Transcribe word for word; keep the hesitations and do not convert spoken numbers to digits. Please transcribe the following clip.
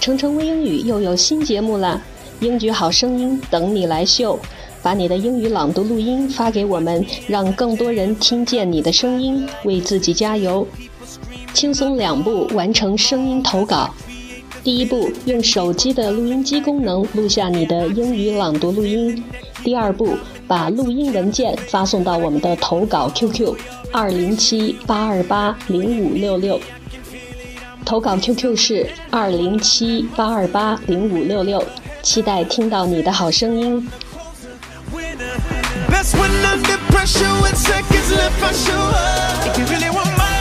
程程微英语又有新节目啦，英语好声音等你来秀，把你的英语朗读录音发给我们，让更多人听见你的声音，为自己加油。轻松两步完成声音投稿。第一步，用手机的录音机功能录下你的英语朗读录音。第二步，把录音文件发送到我们的投稿 Q Q 二零七八二八零五六六。投稿 Q Q 是二零七八二八零五六六，期待听到你的好声音。 Best when under pressure with seconds left, I show up. If you really want my